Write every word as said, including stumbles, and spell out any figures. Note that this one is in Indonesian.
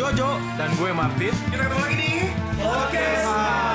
Kojo. Dan gue Martin. Kita ketemu lagi di Podcast.